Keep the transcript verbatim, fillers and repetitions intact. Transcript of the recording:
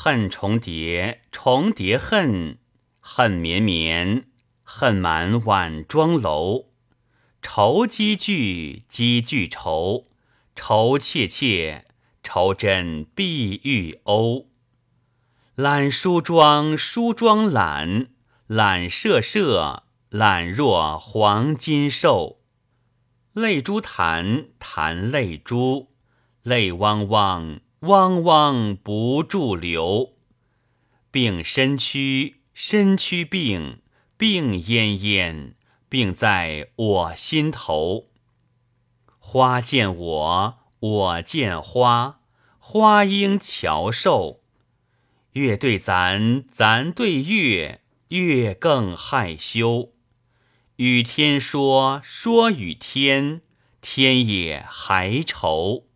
恨重叠，重叠恨，恨绵绵，恨满晚妆楼。愁积聚，积聚愁，愁切切，愁真碧玉瓯。懒梳妆，梳妆懒，懒射射，懒若黄金兽。泪珠弹，弹泪珠，泪汪汪，汪汪不住流。病身躯，身躯病，病恹恹，病在我心头。花见我，我见花，花应乔兽。月对咱，咱对月，月更害羞。与天说，说与天，天也还愁。